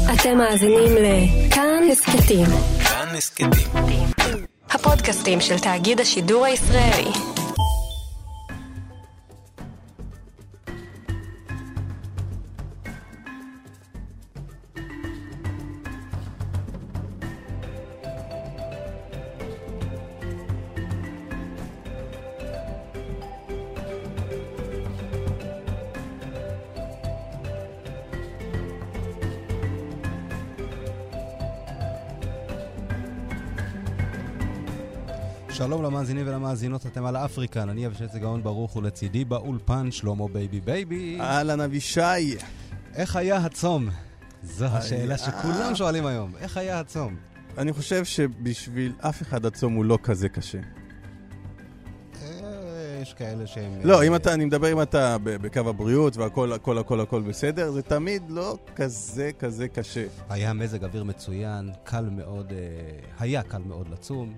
אתם מאזינים לכאן הסקטים. כאן הסקטים. הפודקאסטים של תאגיד השידור הישראלי. שלום למאזינים ולמאזינות, אתם על אפריקן, אני אבישי צגאון ברוך ולצידי באולפן שלמה בייבי בייבי. אהלן אבישי. איך היה הצום? זו השאלה שכולם שואלים היום. איך היה הצום? אני חושב שבשביל אף אחד הצום הוא לא כזה קשה. יש כאלה שהם... לא, אני מדבר אם אתה בקו הבריאות והכל בסדר, זה תמיד לא כזה קשה. היה מזג אוויר מצוין, קל מאוד, היה קל מאוד לצום,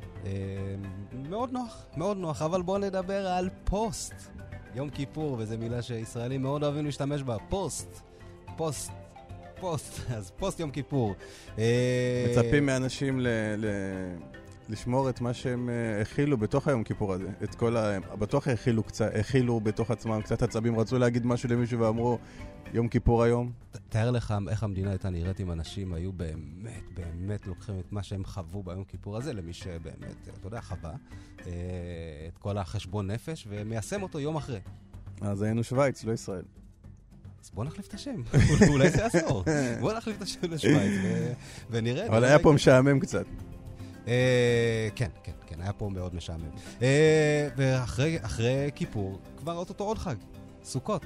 מאוד נוח, אבל בואו נדבר על פוסט. יום כיפור, וזו מילה שישראלים מאוד אוהבים להשתמש בה, פוסט, אז פוסט יום כיפור. מצפים מאנשים לשמור את מה שהם הכילו בתוך היום כיפור הזה. את כל בטוח הכילו בתוך עצמם קצת עצבים, רצו להגיד משהו למישהו ואמרו יום כיפור היום. תאר לך איך המדינה הייתה נראית אם אנשים היו באמת לוקחים את מה שהם חוו ביום כיפור הזה, למי שבאמת, אתה יודע, חווה את כל החשבון נפש ומיישם אותו יום אחרי. אז היינו שוויץ, לא ישראל. אז בוא נחליף את השם, אולי זה עשור. בוא נחליף את השם לשוויץ ונראה. אבל היה פה משעמם קצת. כן, היה פה מאוד משעמם. ואחרי כיפור, כבר אותו עוד חג, סוכות.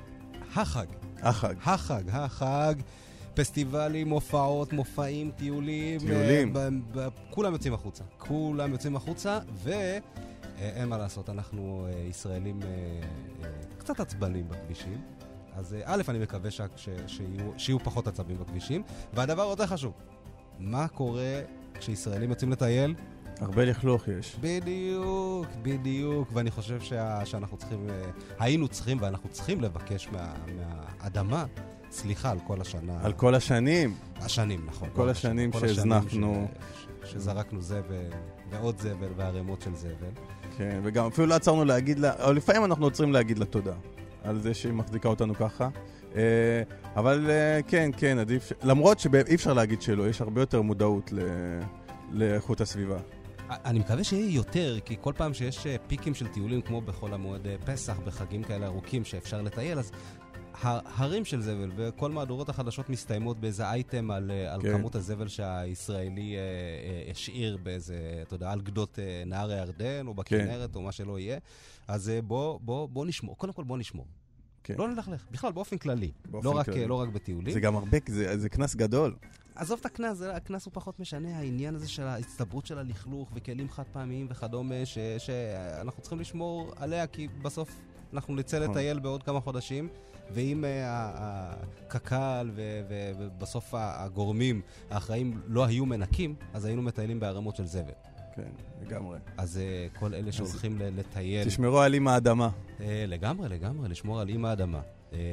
החג. פסטיבלים, הופעות, מופעים, טיולים. כולם יוצאים החוצה, ואין מה לעשות, אנחנו ישראלים קצת עצבנים בכבישים. אז א', אני מקווה שיהיו פחות עצבים בכבישים. והדבר יותר חשוב, מה קורה כשישראלים יוצאים לטייל? הרבה לכלוך יש. בדיוק, ואני חושב היינו צריכים ואנחנו צריכים לבקש מהאדמה סליחה על כל השנה. על כל השנים. נכון. כל השנים שהזנחנו. שזרקנו זבל, ועוד זבל, והרמות של זבל. כן, וגם אפילו לא עצרנו להגיד לה, או לפעמים אנחנו רוצים להגיד לה תודה על זה שהיא מחזיקה אותנו ככה. אבל כן, עדיף, למרות שאי אפשר להגיד שלא, יש הרבה יותר מודעות לאיכות הסביבה. אני מקווה שיהיה יותר, כי כל פעם שיש פיקים של טיולים, כמו בכל המועד פסח, בחגים כאלה ארוכים שאפשר לטייל, אז הרים של זבל, וכל מהדורות החדשות מסתיימות באיזה אייטם על כמות הזבל שהישראלי השאיר באיזה, אתה יודע, על גדות נהר הירדן, או בכנרת, או מה שלא יהיה. אז בוא נשמור, קודם כל בוא נשמור. לא נלכלך, בכלל באופן כללי, לא רק בטיולים. זה גם הרבה, זה כנס גדול. עזוב את הכנס, הכנס הוא פחות משנה, העניין הזה של ההצטברות של הלכלוך וכלים חד פעמיים וכדומה, שאנחנו צריכים לשמור עליה, כי בסוף אנחנו נצא לטייל בעוד כמה חודשים, ואם הקקל ובסוף הגורמים האחראים לא היו מנקים, אז היינו מטיילים בערמות של זבל. כן, לגמרי. אז כל אלה שהולכים לטייל... תשמרו על אימא האדמה. לגמרי, לשמור על אימא האדמה.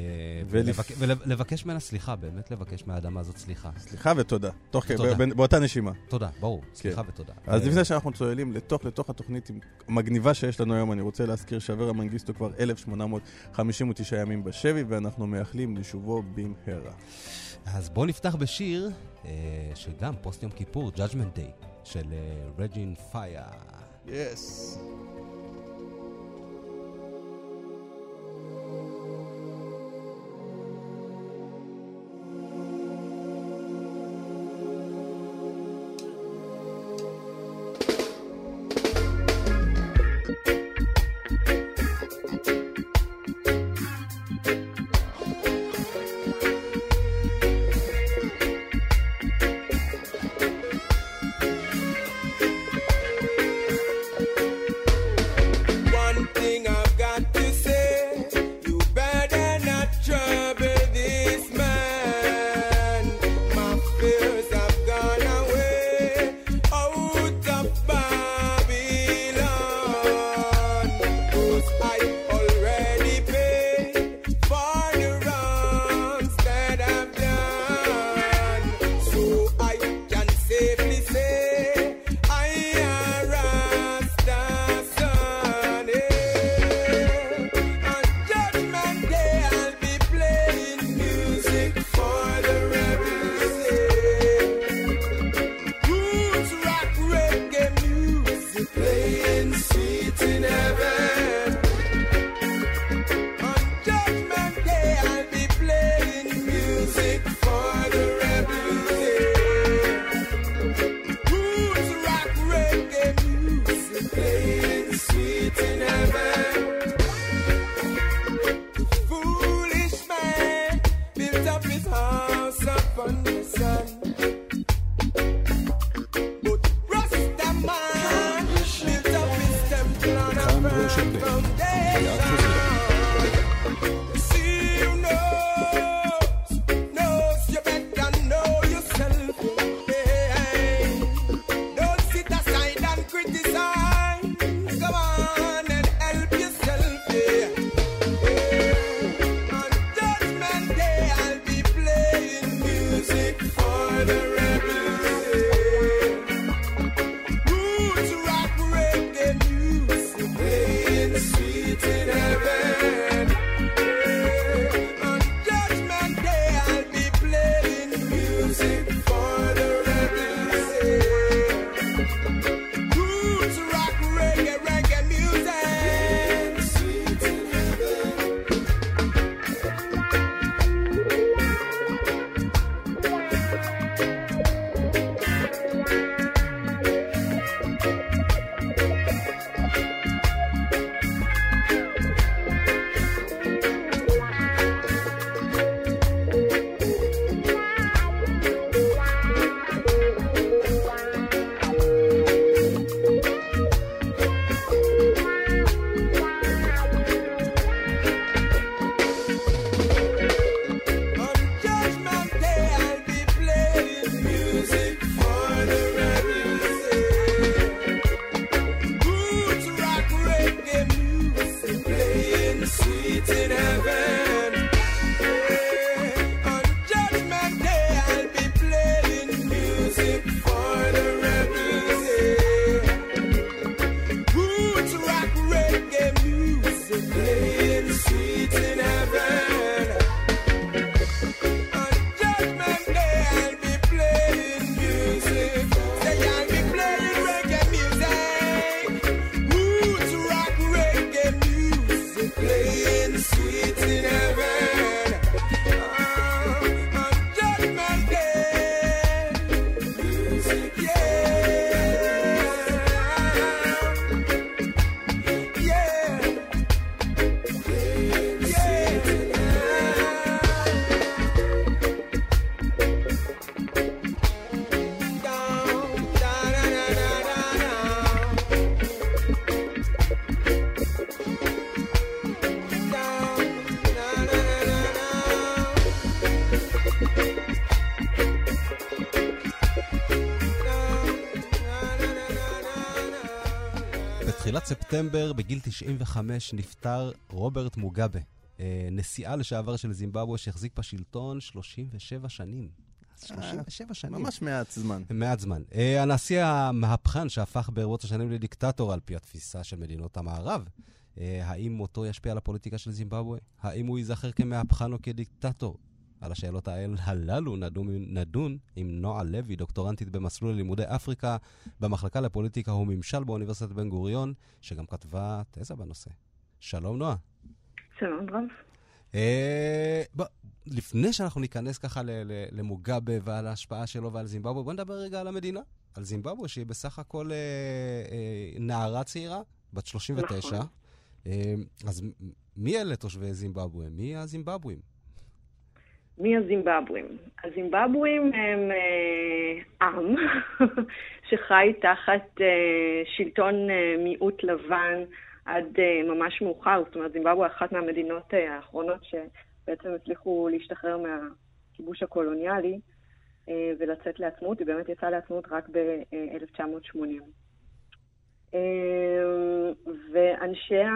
ולבקש ממנה סליחה, באמת לבקש מהאדמה הזאת סליחה. סליחה ותודה. באותה נשימה. תודה, ברור. סליחה ותודה. אז לפני שאנחנו צוללים לתוך התוכנית המגניבה שיש לנו היום, אני רוצה להזכיר שאברה מנגיסטו כבר 1859 ימים בשבי, ואנחנו מייחלים לשובו במהרה. אז בואו נפתח בשיר שגם פוסט יום כיפור, Judgment Day, של רג'ין פייר. Yes. music for the rebels. Roots rock reggae music playing sweet in heaven. On Judgment Day I'll be playing music for the rebels. Roots rock reggae music playing sweet in heaven. House upon the sun, but Rastaman built up his temple on a firm foundation. See you knows you better know yourself. Hey, don't sit aside and criticize. Go on and help yourself. Yeah. For the rebels, roots rock reggae music playing sweet in heaven. On Judgment Day I'll be playing music for the rebels. Roots rock reggae music sweet in heaven. בתחילת ספטמבר, בגיל 95, נפטר רוברט מוגאבה, נשיאה לשעבר של זימבבואה שהחזיק בשלטון 37 שנים. 37 שנים. ממש מעט זמן. מעט זמן. הנשיא המהפכן שהפך ברבות השנים לדיקטטור על פי התפיסה של מדינות המערב. האם מותו ישפיע על הפוליטיקה של זימבבואה? האם הוא ייזכר כמהפכן או כדיקטטור? על השאלות הללו נדון עם נועה לוי, דוקטורנטית במסלול לימודי אפריקה במחלקה לפוליטיקה וממשל באוניברסיטת בן גוריון, שגם כתבה תזה בנושא. שלום נועה. שלום רב. לפני שאנחנו ניכנס ככה למוגאבה ועל ההשפעה שלו ועל זימבבואה, בוא נדבר רגע על המדינה, על זימבבואה שהיא בסך הכל נערה צעירה, בת 39. נכון. אז מי אלה תושבי זימבבואה? מי הזימבבואים? מי הזימבבואים? הזימבבואים הם עם שחי תחת שלטון מיעוט לבן עד ממש מאוחר. זאת אומרת, זימבבואה אחת מהמדינות האחרונות שבעצם הצליחו להשתחרר מהכיבוש הקולוניאלי ולצאת לעצמאות. היא באמת יצאה לעצמאות רק ב-1980. ואנשיה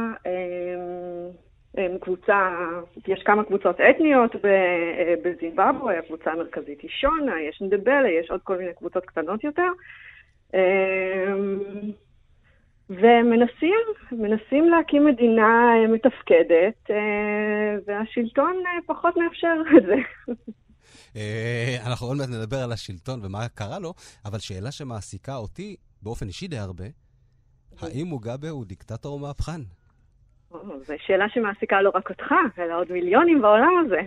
קבוצה, יש כמה קבוצות אתניות בזימבבואה, הקבוצה המרכזית היא שונה, יש נדבלה, יש עוד כל מיני קבוצות קטנות יותר. ומנסים להקים מדינה מתפקדת, והשלטון פחות מאפשר את זה. אנחנו עוד מעט נדבר על השלטון ומה קרה לו, אבל שאלה שמעסיקה אותי באופן אישי די הרבה, האם מוגאבה הוא דיקטטור או מהפכן? זו שאלה שמעסיקה לא רק אותך, אלא עוד מיליונים בעולם הזה.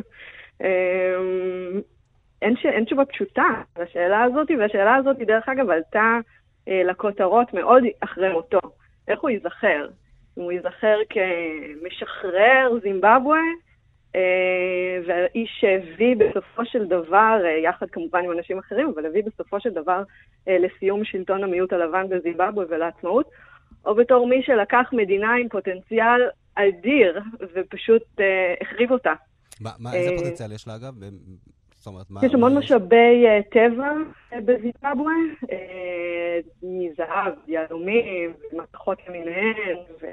אין תשובה פשוטה לשאלה הזאת, והשאלה הזאת דרך אגב עלתה לכותרות מאוד אחרי מותו. איך הוא ייזכר? אם הוא ייזכר כמשחרר זימבבואה, והאיש שהביא בסופו של דבר, יחד כמובן עם אנשים אחרים, אבל הביא בסופו של דבר לסיום שלטון המיעוט הלבן בזימבבואה ולעצמאות, או בתור מי שלקח מדינה עם פוטנציאל אדיר ופשוט החריב אותה. איזה פוטנציאל יש לה אגב? יש המון משאבי טבע בזימבבואה, מזהב, יהלומים, מתכות למיניהן,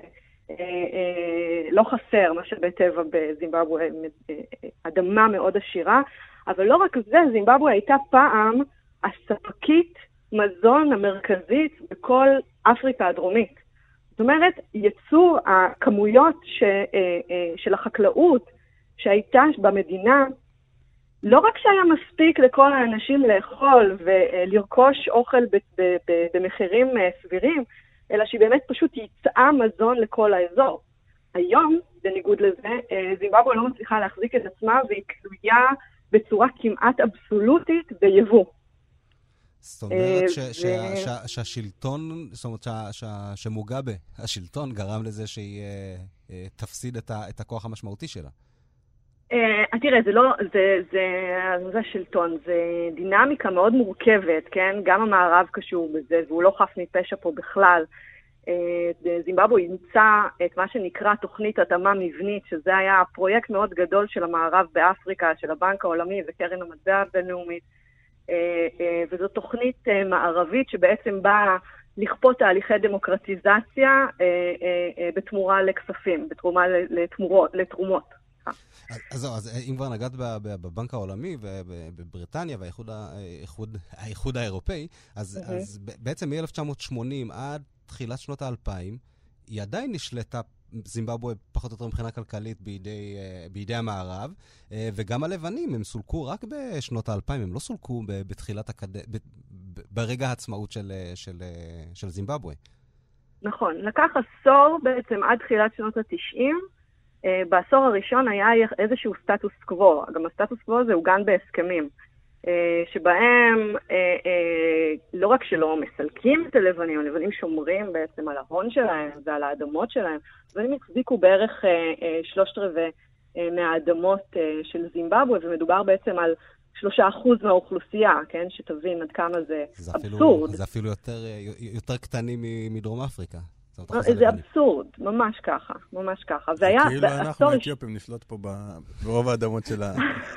לא חסר משאבי טבע בזימבבואה, אדמה מאוד עשירה, אבל לא רק זה, זימבבואה הייתה פעם הספקית מזון המרכזית בכל אפריקה הדרומית. זאת אומרת, יצור הכמויות של החקלאות שהייתה במדינה, לא רק שהיה מספיק לכל האנשים לאכול ולרכוש אוכל במחירים סבירים, אלא שהיא באמת פשוט יצאה מזון לכל האזור. היום, בניגוד לזה, זימבבואה לא מצליחה להחזיק את עצמה, והיא תלויה בצורה כמעט אבסולוטית ביבוא. זאת אומרת שהשלטון, זאת אומרת שמוגאבה, השלטון גרם לזה שהיא תפסיד את הכוח המשמעותי שלה. תראה, זה שלטון, זה דינמיקה מאוד מורכבת, כן? גם המערב קשור בזה, והוא לא חף מפשע פה בכלל. זימבבואה אימצה את מה שנקרא תוכנית התאמה מבנית, שזה היה פרויקט מאוד גדול של המערב באפריקה, של הבנק העולמי וקרן המטבע הבינלאומית, וזו תוכנית מערבית שבעצם באה לכפות תהליכי דמוקרטיזציה בתמורה לכספים, בתרומה לתרומות. אז אם כבר נגעת בבנק העולמי ובבריטניה והאיחוד האירופאי, אז בעצם מ-1980 עד תחילת שנות ה-2000, היא עדיין נשלטה זימבבואה פחות או יותר מבחינה כלכלית בידי המערב, וגם הלבנים הם סולקו רק בשנות ה-2000, הם לא סולקו ברגע העצמאות של זימבבואה. נכון, לקח עשור בעצם עד תחילת שנות ה-90, בעשור הראשון היה איזשהו סטטוס קוו, גם הסטטוס קוו הזה עוגן בהסכמים, שבהם לא רק שלא מסלקים את הלבנים, הלבנים שומרים בעצם על ההון שלהם ועל האדמות שלהם, והם החזיקו בערך 3/4 מהאדמות של זימבבואה, ומדובר בעצם על 3% מהאוכלוסייה, כן? שתבין עד כמה זה אבסורד. זה אפילו יותר קטנים מדרום אפריקה. זה אבסורד, ממש ככה, ממש ככה. כאילו אנחנו האתיופים נשלוט פה ברוב האדמות שלה.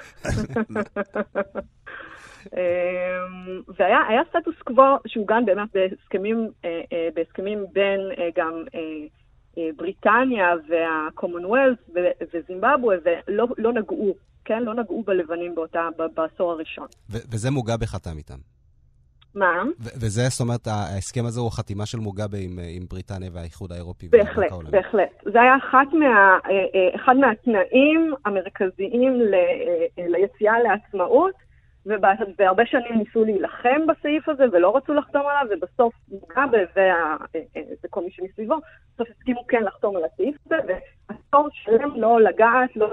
והיה סטטוס קוו שעוגן באמת בהסכמים בין גם בריטניה והקומונוולת וזימבבואה, ולא נגעו, כן? לא נגעו בלבנים בעשור הראשון. וזה מוגאבה חתם איתם. מה? וזה, זאת אומרת, ההסכם הזה הוא חתימה של מוגאבה עם בריטניה והאיחוד האירופי. בהחלט, בהחלט. זה היה אחד מהתנאים המרכזיים ליציאה לעצמאות, והרבה שנים ניסו להילחם בסעיף הזה, ולא רצו לחתום עליו, ובסוף מוגאבה וכל מי שמסביבו, בסוף הסכימו כן לחתום על הסעיף הזה, והסוף שלהם לא לגעת, לא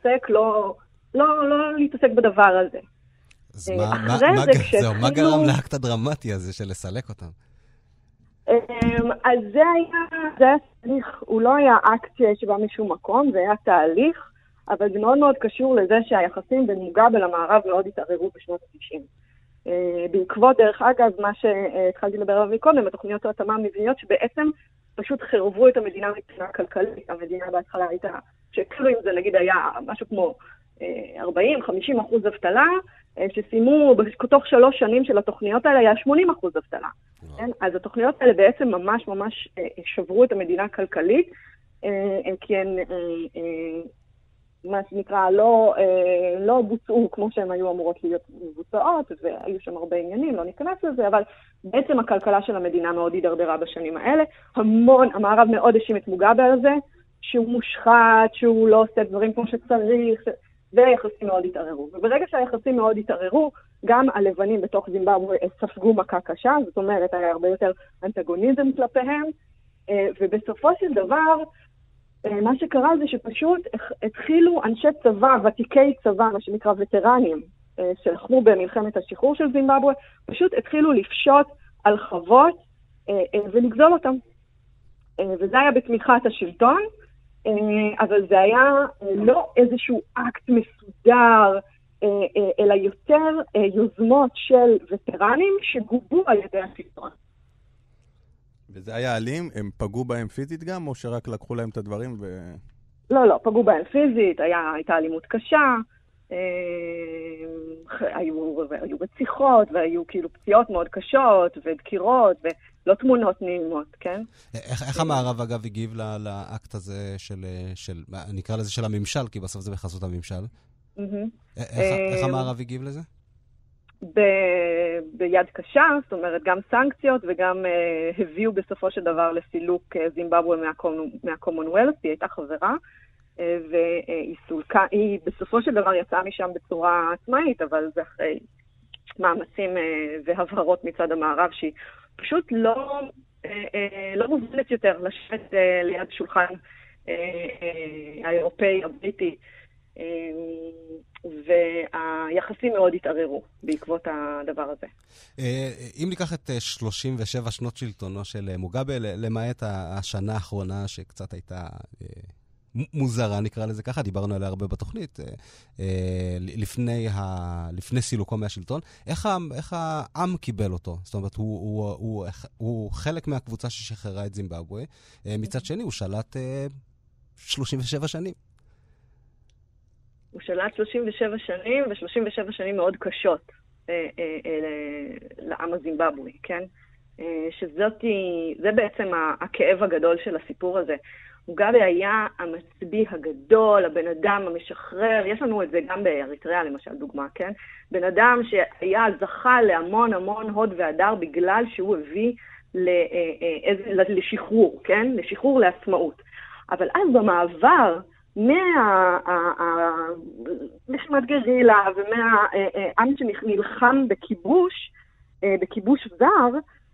להתעסק בדבר הזה. אז מה גרם לאקט הדרמטי הזה של לסלק אותם? אז זה היה תהליך, הוא לא היה אקט שבא משום מקום, זה היה תהליך, אבל זה מאוד מאוד קשור לזה שהיחסים בין מוגאבה למערב מאוד התערערו בשנות ה-90. בעקבות, דרך אגב, מה שהתחלתי לדבר עליו מקודם, התוכניות ההתאמה המבניות שבעצם פשוט חרבו את המדינה מבחינה כלכלית. המדינה בהתחלה הייתה, שכאילו אם זה נגיד היה משהו כמו 40-50% אבטלה, שסיימו בתוך 3 שנים של התוכניות האלה היה 80% אבטלה. כן? אז התוכניות האלה בעצם ממש ממש שברו את המדינה הכלכלית, כי הן מה שנקרא, לא בוצעו כמו שהן היו אמורות להיות מבוצעות, והיו שם הרבה עניינים, לא ניכנס לזה, אבל בעצם הכלכלה של המדינה מאוד הידרדרה בשנים האלה. המערב מאוד האשים את מוגאבה על זה, שהוא מושחת, שהוא לא עושה דברים כמו שצריך, והיחסים מאוד התערערו. וברגע שהיחסים מאוד התערערו, גם הלבנים בתוך זימבבואה ספגו מכה קשה, זאת אומרת, היה הרבה יותר אנטגוניזם כלפיהם, ובסופו של דבר, מה שקרה זה שפשוט התחילו אנשי צבא, ותיקי צבא, מה שנקרא וטרנים, שלחמו במלחמת השחרור של זימבבואה, פשוט התחילו לפשוט על חוות ולגזול אותם. וזה היה בתמיכת השלטון, אבל זה היה לא איזשהו אקט מסודר, אלא יותר יוזמות של וטרנים שגובו על ידי השלטון. וזה היה אלים? הם פגעו בהם פיזית גם, או שרק לקחו להם את הדברים ו... לא, פגעו בהם פיזית, הייתה אלימות קשה, היו רציחות, והיו כאילו פציעות מאוד קשות, ודקירות, ולא תמונות נעימות, כן? איך המערב אגב הגיב לאקט הזה של, נקרא לזה של הממשל, כי בסוף זה בחסות הממשל? איך המערב הגיב לזה? ביד קשה, זאת אומרת, גם סנקציות וגם הביאו בסופו של דבר לסילוק זימבבואה מהקומונוולת', היא הייתה חברה, והיא סולקה, היא בסופו של דבר יצאה משם בצורה עצמאית, אבל זה אחרי מאמצים והבהרות מצד המערב, שהיא פשוט לא מובנת יותר לשבת ליד שולחן האירופאי, הבריטי, והיחסים מאוד התערערו בעקבות הדבר הזה. אם ניקח את 37 שנות שלטונו של מוגאבה, למעט השנה האחרונה שקצת הייתה מוזרה, נקרא לזה ככה, דיברנו עליה הרבה בתוכנית, לפני סילוקו מהשלטון, איך העם קיבל אותו? זאת אומרת, הוא חלק מהקבוצה ששחררה את זימבבואה, מצד שני הוא שלט 37 שנים. הוא שלט 37 שנים, ו37 שנים מאוד קשות לעם הזימבבואי, כן? זה בעצם הכאב הגדול של הסיפור הזה. מוגאבה היה המצביא הגדול, הבן אדם המשחרר, יש לנו את זה גם באריתריאה למשל, דוגמה, כן? בן אדם שהיה זכה להמון המון הוד והדר בגלל שהוא הביא לשחרור, כן? לשחרור לעצמאות. אבל אז במעבר מהלחימת גרילה ומהעם שנלחם בכיבוש זר,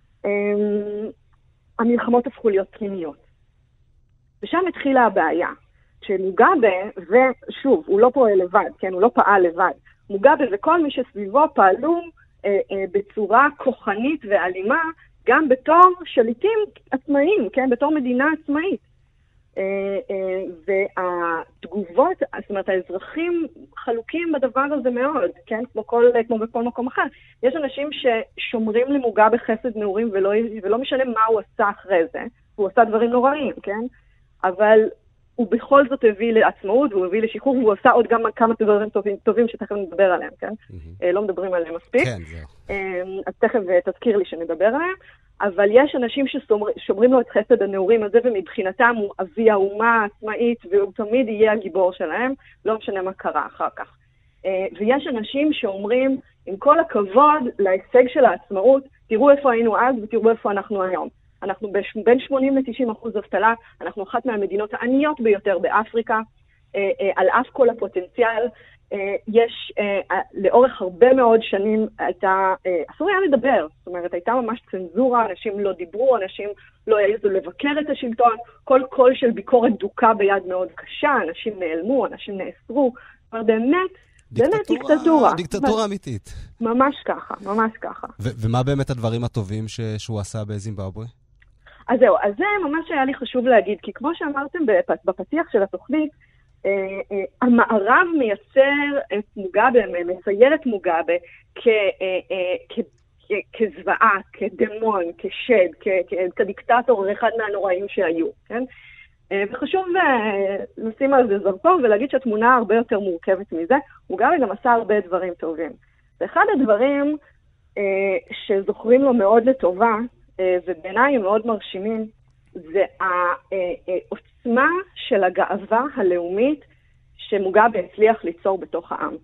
המלחמות הפכו להיות פנימיות. ושם התחילה הבעיה, שמוגאבה, ושוב, הוא לא פועל לבד, כן? הוא לא פעל לבד. מוגאבה וכל מי שסביבו פעלו בצורה כוחנית ואלימה, גם בתור שליטים עצמאיים, כן? בתור מדינה עצמאית. והתגובות, זאת אומרת, האזרחים חלוקים בדבר הזה מאוד, כן? כמו בכל מקום אחר. יש אנשים ששומרים למוגאבה חסד נעורים ולא משנה מה הוא עשה אחרי זה. הוא עשה דברים נוראים, כן? אבל הוא בכל זאת הביא לעצמאות, והוא הביא לשחרור, והוא עשה עוד גם כמה דברים טובים שתכף נדבר עליהם, כן? לא מדברים עליהם מספיק. כן, זהו. אז תכף תזכיר לי שנדבר עליהם. אבל יש אנשים ששומרים לו את חסד הנעורים הזה, ומבחינתם הוא אבי האומה העצמאית, והוא תמיד יהיה הגיבור שלהם, לא משנה מה קרה אחר כך. ויש אנשים שאומרים, עם כל הכבוד להישג של העצמאות, תראו איפה היינו אז ותראו איפה אנחנו היום. אנחנו בין 80% ל-90% אבטלה, אנחנו אחת מהמדינות העניות ביותר באפריקה, על אף כל הפוטנציאל. יש, לאורך הרבה מאוד שנים אסור היה לדבר, זאת אומרת, הייתה ממש צנזורה, אנשים לא דיברו, אנשים לא העזו לבקר את השלטון, כל קול של ביקורת דוקה ביד מאוד קשה, אנשים נעלמו, אנשים נאסרו, זאת אומרת, באמת דיקטטורה. דיקטטורה אמיתית. ממש ככה, ממש ככה. ומה באמת הדברים הטובים שהוא עשה בזימבבואה? אז זהו, אז זה ממש היה לי חשוב להגיד, כי כמו שאמרתם בפתיח של התוכנית, המערב מייצר את מוגאבה, מצייר את מוגאבה כזוועה, כדמון, כשד, כדיקטטור, אחד מהנוראים שהיו, כן? וחשוב לשים על זה זרקור ולהגיד שהתמונה הרבה יותר מורכבת מזה. מוגאבה גם עשה הרבה דברים טובים. ואחד הדברים שזוכרים לו מאוד לטובה, ובעיניי הם מאוד מרשימים, זה העוצמה של הגאווה הלאומית שמוגאבה הצליח ליצור בתוך העם.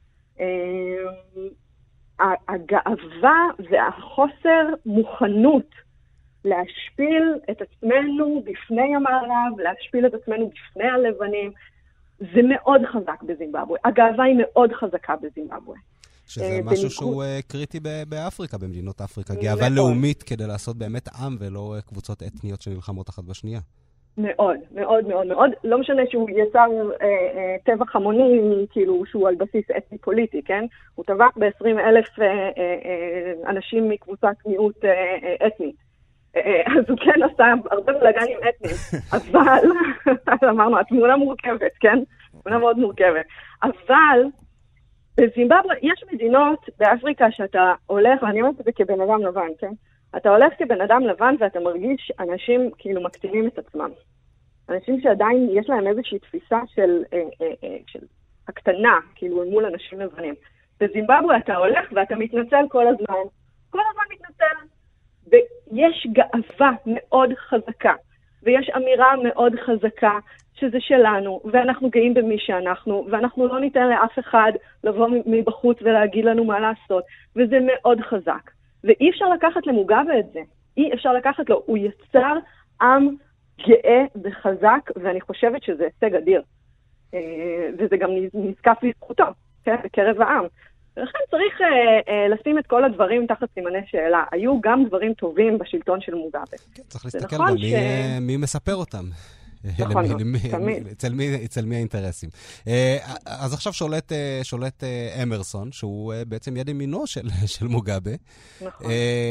הגאווה והחוסר מוכנות להשפיל את עצמנו בפני המערב, להשפיל את עצמנו בפני הלבנים, זה מאוד חזק בזימבבואה. הגאווה היא מאוד חזקה בזימבבואה. שזה משהו שהוא קריטי באפריקה, במדינות אפריקה. גאווה לאומית כדי לעשות באמת עם ולא קבוצות אתניות שנלחמות אחת בשנייה. מאוד, מאוד, מאוד, מאוד. לא משנה שהוא יצר טבח המוני, כאילו שהוא על בסיס אתני פוליטי, כן? הוא טבח ב20,000 אנשים מקבוצת מיעוט אתני. אז הוא כן עשה הרבה בלגנים אתניים, אבל, אמרנו, התמונה מורכבת, כן? תמונה מאוד מורכבת. אבל, בזימבבואה יש מדינות באפריקה שאתה הולך, ואני אומרת את זה כבן אדם לבן, כן? אתה הולך כבן אדם לבן ואתה מרגיש אנשים כאילו מקטינים את עצמם. אנשים שעדיין יש להם איזושהי תפיסה של הקטנה, כאילו מול אנשים לבנים. בזימבבואה אתה הולך ואתה מתנצל כל הזמן. כל הזמן מתנצל. ויש גאווה מאוד חזקה, ויש אמירה מאוד חזקה שזה שלנו, ואנחנו גאים במי שאנחנו, ואנחנו לא ניתן לאף אחד לבוא מבחוץ ולהגיד לנו מה לעשות, וזה מאוד חזק. ואי אפשר לקחת למוגאבה את זה. אי אפשר לקחת לו. הוא יצר עם גאה וחזק, ואני חושבת שזה הישג אדיר. וזה גם נזקף לזכותו, כן? בקרב העם. ולכן צריך לשים את כל הדברים תחת סימני שאלה. היו גם דברים טובים בשלטון של מוגאבה. כן, צריך להסתכל גם מי מספר אותם. נכון, תמיד. אצל מי האינטרסים. אז עכשיו שולט אמרסון, שהוא בעצם יד ימינו של מוגאבה. נכון.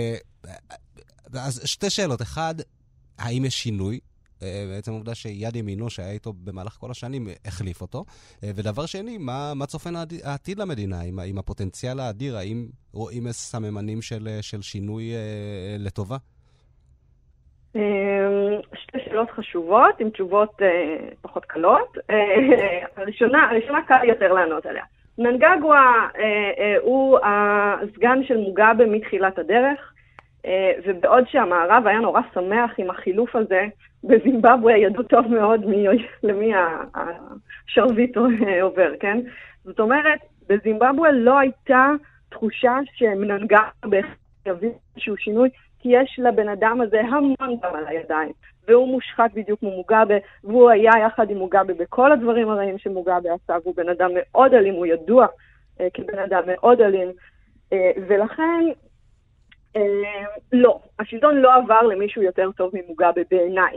אז שתי שאלות. אחד, האם יש שינוי? בעצם העובדה שיד ימינו שהיה איתו במהלך כל השנים החליף אותו. ודבר שני, מה צופן העתיד למדינה? עם הפוטנציאל האדיר, האם רואים סממנים של שינוי לטובה? שתי שאלות חשובות, עם תשובות פחות קלות. הראשונה קל יותר לענות עליה. מנגגואה הוא הסגן של מוגאבה מתחילת הדרך, ובעוד שהמערב היה נורא שמח עם החילוף הזה, בזימבבואה ידעו טוב מאוד למי השרביט עובר, כן? זאת אומרת, בזימבבואה לא הייתה תחושה שמנגגואה יביא איזשהו שינוי, כי יש לבן אדם הזה המון דם על הידיים, והוא מושחת בדיוק כמו מוגאבה, והוא היה יחד עם מוגאבה בכל הדברים הרעים שמוגאבה עשה, והוא בן אדם מאוד אלים, הוא ידוע כבן אדם מאוד אלים, ולכן לא, השלטון לא עבר למישהו יותר טוב ממוגאבה בעיניי.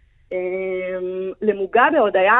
למוגאבה עוד היה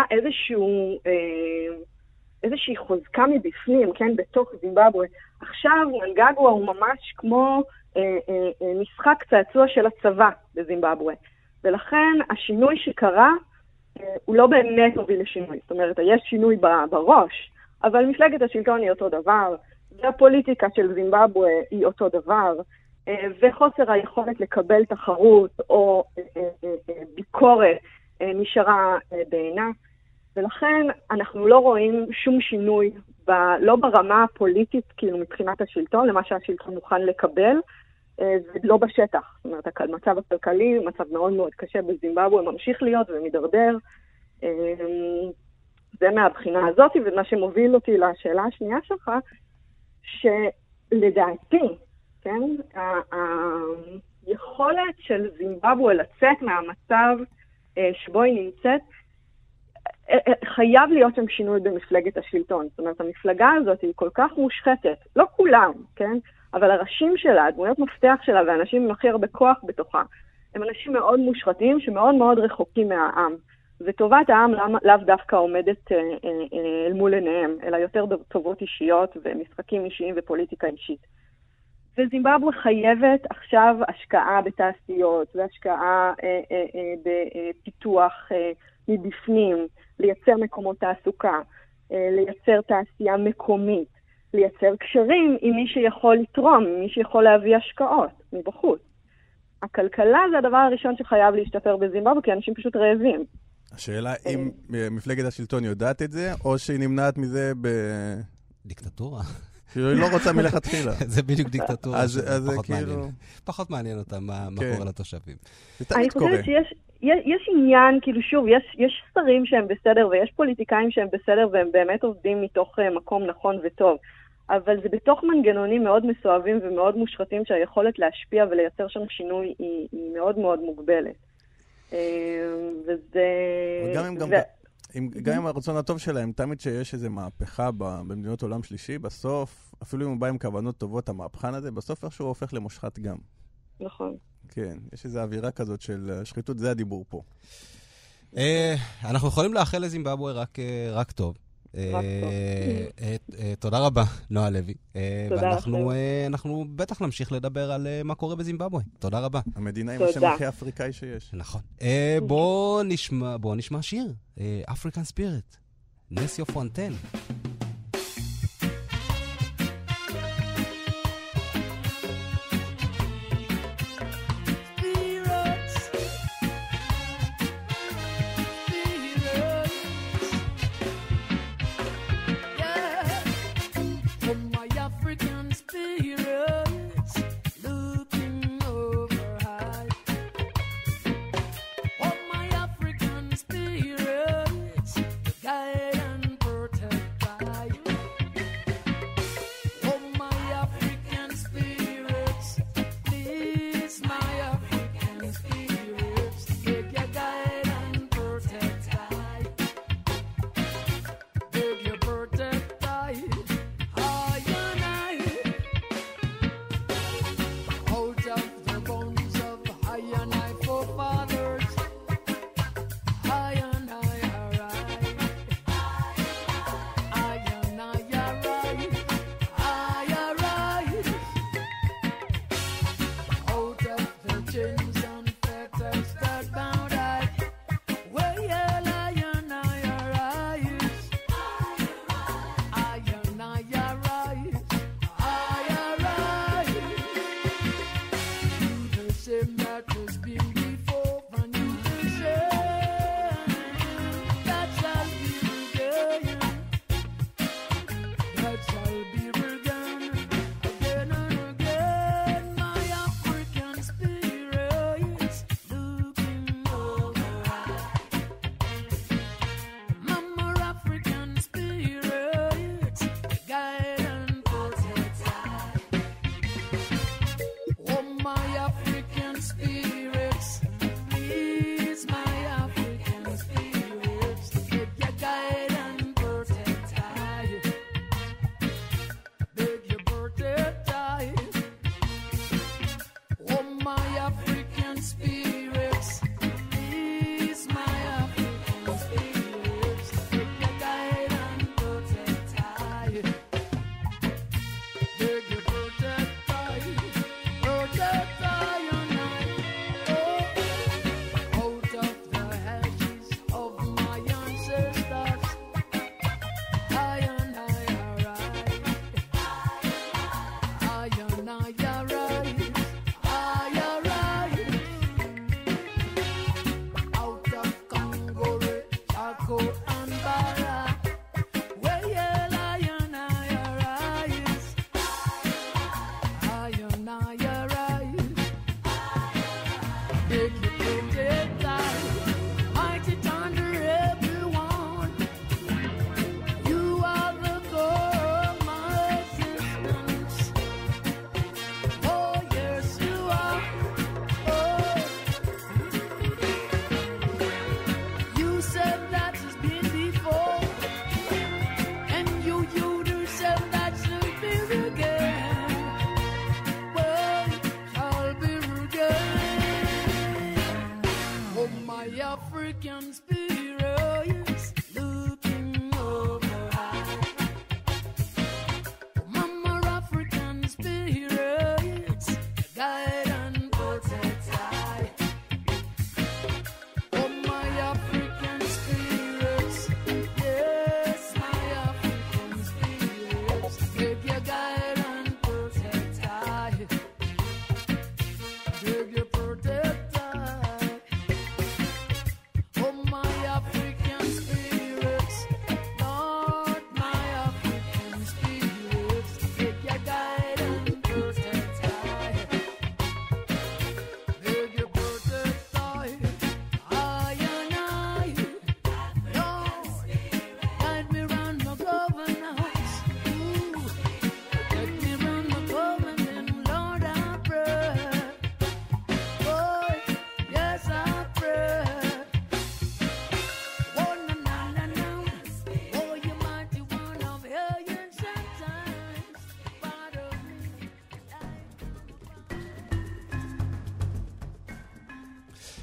איזושהי חוזקה מבפנים, כן, בתוך זימבבואה. עכשיו מנגגואה הוא ממש כמו משחק צעצוע של הצבא בזימבבואה. ולכן השינוי שקרה הוא לא באמת הוביל לשינוי. זאת אומרת, יש שינוי בראש, אבל מפלגת השלטון היא אותו דבר, והפוליטיקה של זימבבואה היא אותו דבר, וחוסר היכולת לקבל תחרות או ביקורת נשארה בעינה. ולכן אנחנו לא רואים שום שינוי, לא ברמה הפוליטית, כאילו מבחינת השלטון, למה שהשלטון מוכן לקבל, ולא בשטח. זאת אומרת, המצב הכלכלי, מצב מאוד מאוד קשה בזימבבואה, ממשיך להיות ומדרדר. זה מהבחינה הזאת, ומה שמוביל אותי לשאלה השנייה שלך, שלדעתי, כן, היכולת של זימבבואה לצאת מהמצב שבו היא נמצאת, חייב להיות שם שינוי במפלגת השלטון. זאת אומרת, המפלגה הזאת היא כל כך מושחתת, לא כולם, כן? אבל הראשים שלה, דמויות מפתח שלה והאנשים עם הכי הרבה כוח בתוכה, הם אנשים מאוד מושחתים שמאוד מאוד רחוקים מהעם. וטובת העם לאו דווקא עומדת אל מול עיניהם, אלא יותר טובות אישיות ומשחקים אישיים ופוליטיקה אישית. וזימבבואה חייבת עכשיו השקעה בתעשיות והשקעה בפיתוח מבפנים, לייצר מקומות תעסוקה, לייצר תעשייה מקומית, לייצר קשרים עם מי שיכול לתרום, עם מי שיכול להביא השקעות מבחוץ. הכלכלה זה הדבר הראשון שחייב להשתפר בזימבבואה, כי אנשים פשוט רעבים. השאלה אם מפלגת השלטון יודעת את זה, או שהיא נמנעת מזה דיקטטורה. כאילו, היא לא רוצה מלכתחילה. זה בדיוק דיקטטורה, אז פחות כאילו... מעניין. פחות מעניין אותה מה קורה לתושבים. זה תמיד קורה. אני חושבת שיש עניין, כאילו שוב, יש שרים שהם בסדר ויש פוליטיקאים שהם בסדר והם באמת עובדים מתוך מקום נכון וטוב. אבל זה בתוך מנגנונים מאוד מסואבים ומאוד מושחתים שהיכולת להשפיע ולייצר שם שינוי היא מאוד מאוד מוגבלת. וזה... גם עם הרצון הטוב שלהם, תמיד שיש איזו מהפכה במדינות עולם שלישי, בסוף, אפילו אם הוא בא עם כוונות טובות, המהפכן הזה, בסוף איכשהו הופך למושחת גם. נכון. כן, יש איזו אווירה כזאת של שחיתות, זה הדיבור פה. אנחנו יכולים לאחל לזימבבואה רק טוב. תודה רבה, נועה לוי. ואנחנו בטח נמשיך לדבר על מה קורה בזימבבואה. תודה רבה. המדינה עם השם הכי אפריקאי שיש. נכון. בוא נשמע שיר. African Spirit. נסיו פונטן. African spirit looking over high. Mama African spirit guide and protect I. Oh my African spirits, yes my African spirits, take your guide and protect I. Take your protect I. Oh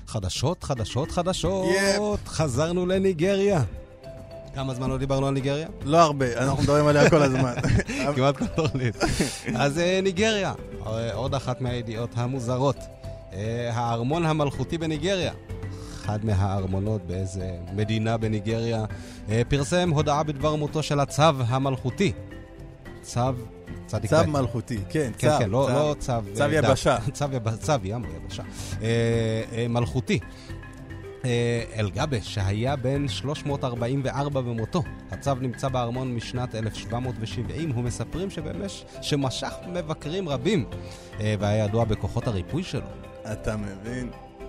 חדשות, חדשות, חדשות. Yep. חזרנו לניגריה. כמה זמן לא דיברנו על ניגריה? לא הרבה, אנחנו מדברים עליה כל הזמן. כמעט כל תוכנית. אז ניגריה, עוד אחת מהידיעות המוזרות. הארמון המלכותי בניגריה. אחד מהארמונות באיזה מדינה בניגריה פרסם הודעה בדבר מותו של הצו המלכותי. צו מלכותי, כן, כן, כן, לא צו... צו יבשה. צו ים, יבשה. מלכותי. אל-גבש, שהיה בן 344 במותו. הצו נמצא בארמון משנת 1770. הוא מספרים שמשך מבקרים רבים, והיה ידוע בכוחות הריפוי שלו. אתה מבין?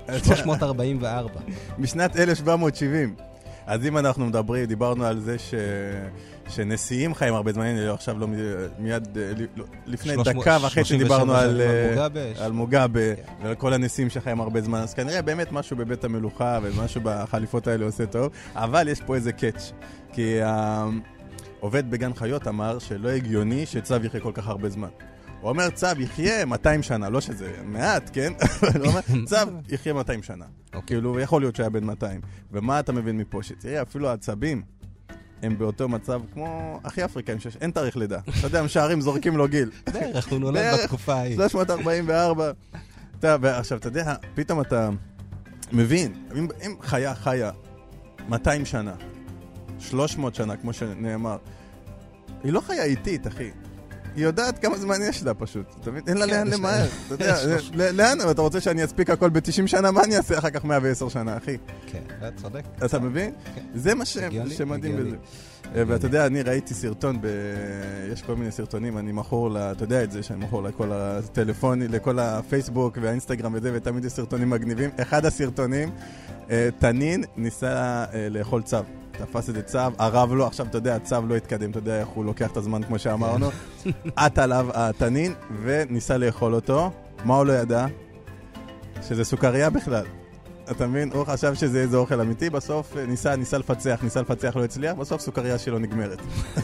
344. משנת 1770. אז אם אנחנו דיברנו על זה שנשיאים חיים הרבה זמן, עכשיו לא מיד, לפני דקה וחצי דיברנו על מוגאבה ועל כל הנשיאים שחיים הרבה זמן, אז כנראה באמת משהו בבית המלוכה ומשהו בחליפות האלה עושה טוב, אבל יש פה איזה קאץ', כי העובד בגן חיות אמר שלא הגיוני שצו יחיה כל כך הרבה זמן. הוא אומר, צו יחיה 200 שנה, לא שזה מעט, כן? הוא אומר, צו יחיה 200 שנה. כאילו, יכול להיות שהיה בין 200. ומה אתה מבין מפה? שתראה, אפילו העצבים הם באותו מצב כמו הכי אפריקאים, אין תאריך לידה. אתה יודע, משערים זורקים לו גיל. דרך, הוא נולד בתקופה ההיא. 344. ועכשיו, אתה יודע, פתאום אתה מבין, אם חיה 200 שנה, 300 שנה, כמו שנאמר, היא לא חיה איטית, אחי. היא יודעת כמה זמן יש לה פשוט. אין לה לאן למהר. אתה יודע, לאן? אתה רוצה שאני אספיק הכל ב-90 שנה? מה אני אעשה אחר כך 110 שנה, אחי? כן, צודק. אתה מבין? זה מה שמדהים בזה. ואתה יודע, אני ראיתי סרטון, יש כל מיני סרטונים, אני מכור, אתה יודע את זה, שאני מכור לכל הטלפונים, לכל הפייסבוק והאינסטגרם וזה, ותמיד יש סרטונים מגניבים. אחד הסרטונים, תנין ניסה לאכול צב. תפס את צו, הרב לא, עכשיו אתה יודע, הצו לא התקדם, אתה יודע איך הוא לוקח את הזמן כמו שאמרנו, עט עליו התנין וניסה לאכול אותו. מה הוא לא ידע? שזה סוכריה בכלל. אתה מבין? הוא חשב שזה איזה אוכל אמיתי, בסוף ניסה לפצח, לא הצליח, בסוף סוכריה שלו נגמרת.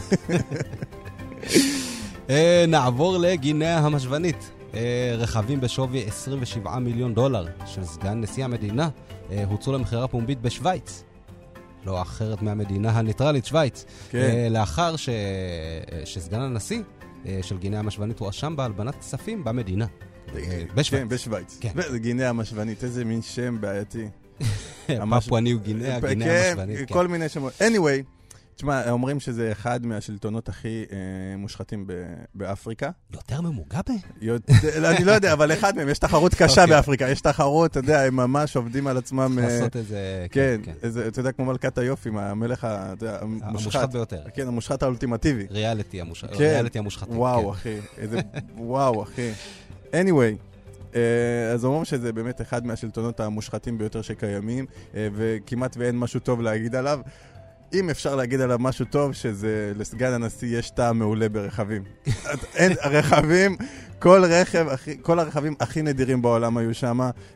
נעבור לגינאה המשוונית. רכבים בשווי $27 מיליון של סגן נשיא המדינה הוצאו למחירה פומבית בשוויץ. לא אחרת מהמדינה הניטרלית, שוויץ. כן. לאחר שסגן הנשיא של גינאה המשוונית הוא אשם בהלבנת כספים במדינה. בשוויץ. כן, בשוויץ. כן. גינאה המשוונית, איזה מין שם בעייתי. פפואה ניו גינאה, גינאה המשוונית. כן, כל מיני שמות. anyway, תשמע, אומרים שזה אחד מהשלטונות הכי מושחתים באפריקה. יותר ממוגאבה? אני לא יודע, אבל אחד מהם, יש תחרות קשה באפריקה, יש תחרות, אתה יודע, הם ממש עובדים על עצמם. לעשות איזה... כן, אתה יודע, כמו מלכת היופי, המלך המושחת ביותר. כן, המושחת האולטימטיבי. ריאליטי המושחתי. וואו, אחי. anyway, אז אומרים שזה באמת אחד מהשלטונות המושחתים ביותר שקיימים, וכמעט ואין משהו טוב להגיד עליו. אם אפשר להגיד עליו משהו טוב, שזה לסגן הנשיא יש טעם מעולה ברכבים. אין רכבים, כל הרכבים הכי נדירים בעולם היו שם,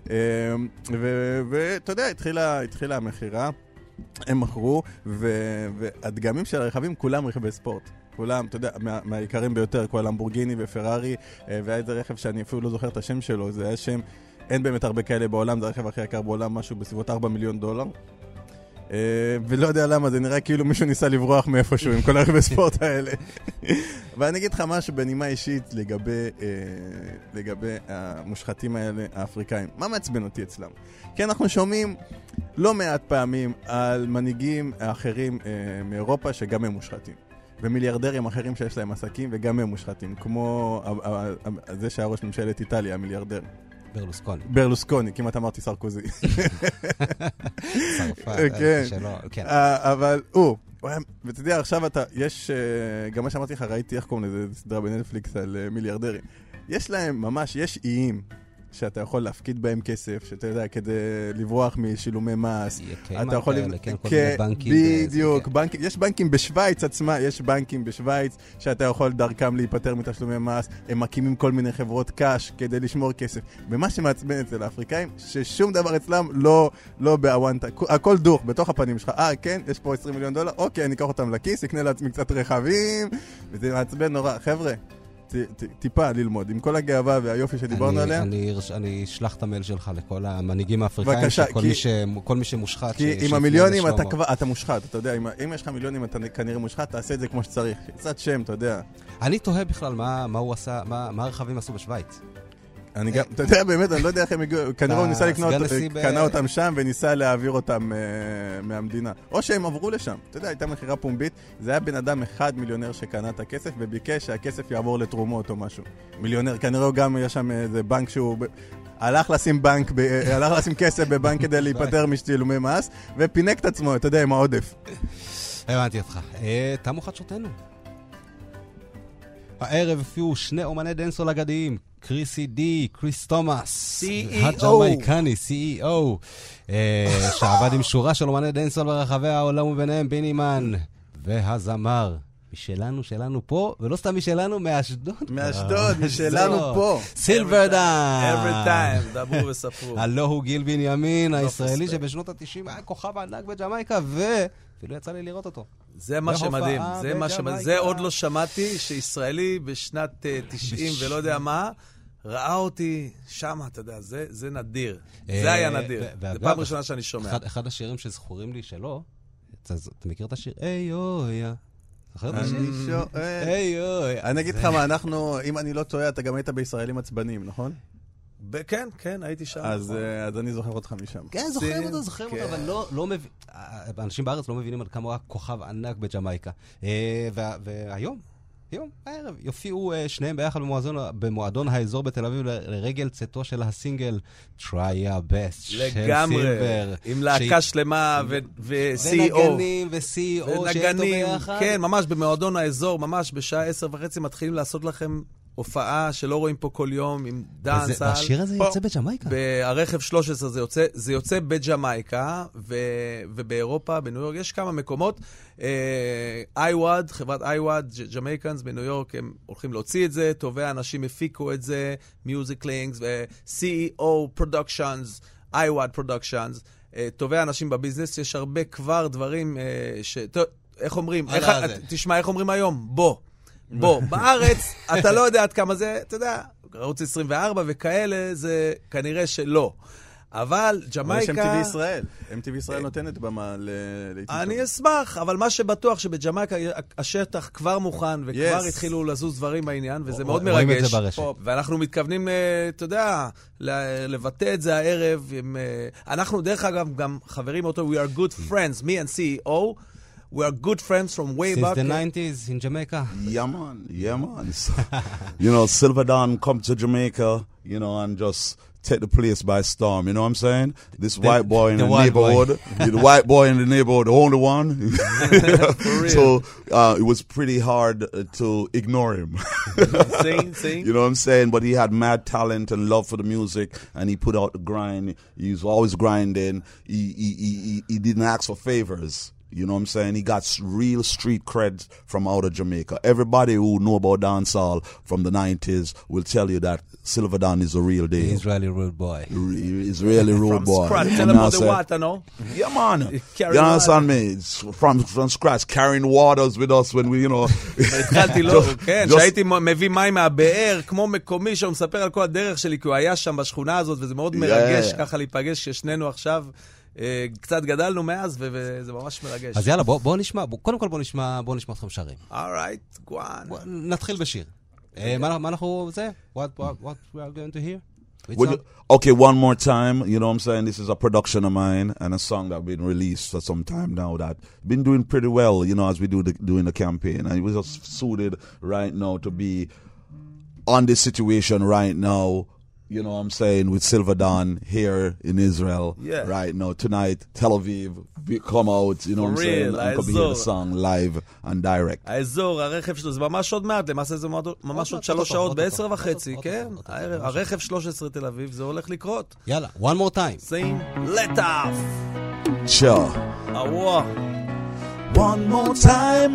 ואתה יודע, התחילה המחירה, הם מכרו, והדגמים של הרכבים כולם רכבי ספורט. כולם, אתה יודע, מהעיקרים ביותר, כל למבורגיני ופרארי, והיה איזה רכב שאני אפילו לא זוכר את השם שלו, זה היה שם, אין באמת הרבה כאלה בעולם, זה הרכב הכי יקר בעולם, משהו בסביבות $4 מיליון. ולא יודע למה, זה נראה כאילו מישהו ניסה לברוח מאיפשהו עם כל הרכבי ספורט האלה. ואני אגיד לך משהו בנימה אישית לגבי המושחתים האלה, האפריקאים. מה מעצבן אותי אצלם? כי אנחנו שומעים לא מעט פעמים על מנהיגים אחרים מאירופה שגם הם מושחתים. ומיליארדרים אחרים שיש להם עסקים וגם הם מושחתים. כמו זה שהיה ראש ממשלת איטליה, המיליארדר. ברלוסקוני, כמעט אמרתי סרקוזי. צרפת, כן. אבל ואתה יודע, עכשיו יש, גם מה שאמרתי לך, ראיתי איך קוראים לזה סדרה בנטפליקס על מיליארדרים. יש להם ממש, יש איים שאתה יכול להפקיד בהם כסף, שאתה יודע, כדי לברוח משילומי מס. אתה יכול... בדיוק, יש בנקים בשוויץ עצמה, יש בנקים בשוויץ שאתה יכול דרכם להיפטר מתשלומי מס, הם מקימים כל מיני חברות קש כדי לשמור כסף. ומה שמעצבן אצל האפריקאים, ששום דבר אצלם לא באוונטה, הכל דוח בתוך הפנים שלך. כן, יש פה $20 מיליון, אוקיי, אני אקח אותם לכיס, אקנה לעצמי קצת רכבים, וזה מעצבן נורא. חבר'ה, טיפה ללמוד, עם כל הגאווה והיופי שדיברנו עליה. אני אשלח את המייל שלך לכל המנהיגים האפריקאים, בבקשה, כל מי שמושחת. כי עם המיליונים אתה מושחת, אתה יודע, אם יש לך מיליונים אתה כנראה מושחת, תעשה את זה כמו שצריך. קצת שם, אתה יודע. אני תוהה בכלל מה הוא עשה, מה הרכבים עשו בשוויץ. אני גם, אתה יודע, באמת, אני לא יודע איך הם הגיעו, כנראה הוא ניסה לקנות, קנה אותם שם וניסה להעביר אותם מהמדינה. או שהם עברו לשם. אתה יודע, הייתה מחירה פומבית, זה היה בן אדם אחד מיליונר שקנה את הכסף, וביקש שהכסף יעבור לתרומות או משהו. מיליונר, כנראה גם יש שם איזה בנק שהוא הלך לשים כסף בבנק כדי להיפטר משתילומי מס, ופינק את עצמו, אתה יודע, עם העודף. הבנתי אותך. תמו חדשותנו. הערב הופיעו שני אומני דנסול אגדיים, קריסי די, קריס תומאס, הג'מייקני, CEO, שעבד עם שורה של אומני דנסול ברחבי העולם וביניהם בינימן, והזמר משלנו פה, ולא סתם משלנו, מאשדוד. משלנו פה. סילברדן. Every time, דברו וספרו. הלא הוא גיל בנימין, הישראלי שבשנות ה-90 היה כוכב ענק בג'מייקה, ואפילו יצא לי לראות אותו. זה מה שמדהים, זה עוד לא שמעתי, שישראלי בשנת 90 ולא יודע מה, ראה אותי שם, אתה יודע, זה נדיר. זה היה נדיר. זה פעם ראשונה שאני שומע. אחד השירים שזכורים לי שלו, אתה מכיר את השיר? איי אוי, זוכר את השיר? איי אוי. אני אגיד לך מה, אנחנו, אם אני לא טועה, אתה גם היית בישראלים עצבנים, נכון? כן, הייתי שם. אז אני זוכר אותך משם. כן, זוכרים אותו, אבל לא מבין, אנשים בארץ לא מבינים על כמה הוא היה כוכב ענק בג'מייקה. והיום, הערב, יופיעו שניהם ביחד במועדון האזור בתל אביב לרגל צאתו של הסינגל Try Your Best של סילבר. עם להקה שלמה ו-CEO. ונגנים ו-CEO שאיתו ביחד. כן, ממש במועדון האזור, ממש בשעה 10:30 מתחילים לעשות לכם הופעה שלא רואים פה כל יום עם דאנסל. והשיר הזה יוצא בג'מייקה? ברכב 13 זה יוצא בג'מייקה, ובאירופה, בניו יורק, יש כמה מקומות. איוואד, חברת איוואד, ג'מייקנס בניו יורק, הם הולכים להוציא את זה, טובי האנשים הפיקו את זה, מיוזיק לינקס, ו-CEO Productions, איוואד Productions, טובי האנשים בביזנס, יש הרבה כבר דברים איך אומרים? תשמע, איך אומרים היום? בוא, בארץ, אתה לא יודע עד כמה זה, אתה יודע, ערוץ 24 וכאלה, זה כנראה שלא. אבל ג'מייקה... אבל יש MTV ישראל נותנת במה לעיתים. אני אשמח, אבל מה שבטוח שבג'מייקה השטח כבר מוכן, וכבר התחילו לזוז דברים בעניין, וזה מאוד מרגש. רואים את זה ברשת. ואנחנו מתכוונים, אתה יודע, לבטא את זה הערב. אנחנו דרך אגב גם חברים אותו, we are good friends, me and CEO, we are good friends from way back. Since the 90s in Jamaica. Yeah, man. You know, Silver Dawn come to Jamaica, you know, and just take the place by storm. You know what I'm saying? This white boy in the neighborhood, the white boy in the neighborhood, the only one. For real. So it was pretty hard to ignore him. Sing. You know what I'm saying? But he had mad talent and love for the music, and he put out the grind. He was always grinding. He didn't ask for favors. You know what I'm saying? He got real street cred from out of Jamaica. Everybody who know about dancehall from the 90s will tell you that Silver Dawn is a real deal. Israeli rude boy. Israeli rude boy. From scratch. Tell him about the water, no? Yeah, man. You understand me? It's from scratch. Carrying waters with us when we, you know... התחלתי לו, כן, שהייתי מביא מים מהבאר, כמו מקומי, שהוא מספר על כל הדרך שלי, כי הוא היה שם בשכונה הזאת, וזה מאוד מרגש ככה להיפגש, ששנינו עכשיו... קצת גדלנו מאז, וזה ממש מרגש. אז יאללה, בוא נשמע, קודם כל בוא נשמע אתכם שרים. Alright, go on. נתחיל בשיר. מה אנחנו, זה? What we are going to hear? Okay, one more time, you know what I'm saying? This is a production of mine and a song that been released for some time now that been doing pretty well, you know, as we doing the campaign. And it was just suited right now to be on this situation right now. You know what I'm saying, with Silver Dawn here in Israel right now. Tonight, Tel Aviv, we come out, you know what I'm saying, and come hear the song live and direct. האזור, הרכב שלו, זה ממש עוד מעט, למעשה זה ממש עוד 3 שעות, ב-10:30, כן? הרכב 13 תל אביב, זה הולך לקרות. יאללה, one more time. Sing, let off. Sure. One more time.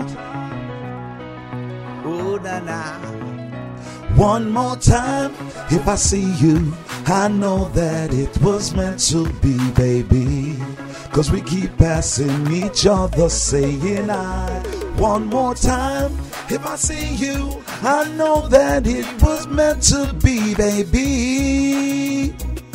Ooh, na-na. One more time, if I see you, I know that it was meant to be, baby. 'Cause we keep passing each other, saying I One more time, if I see you, I know that it was meant to be, baby.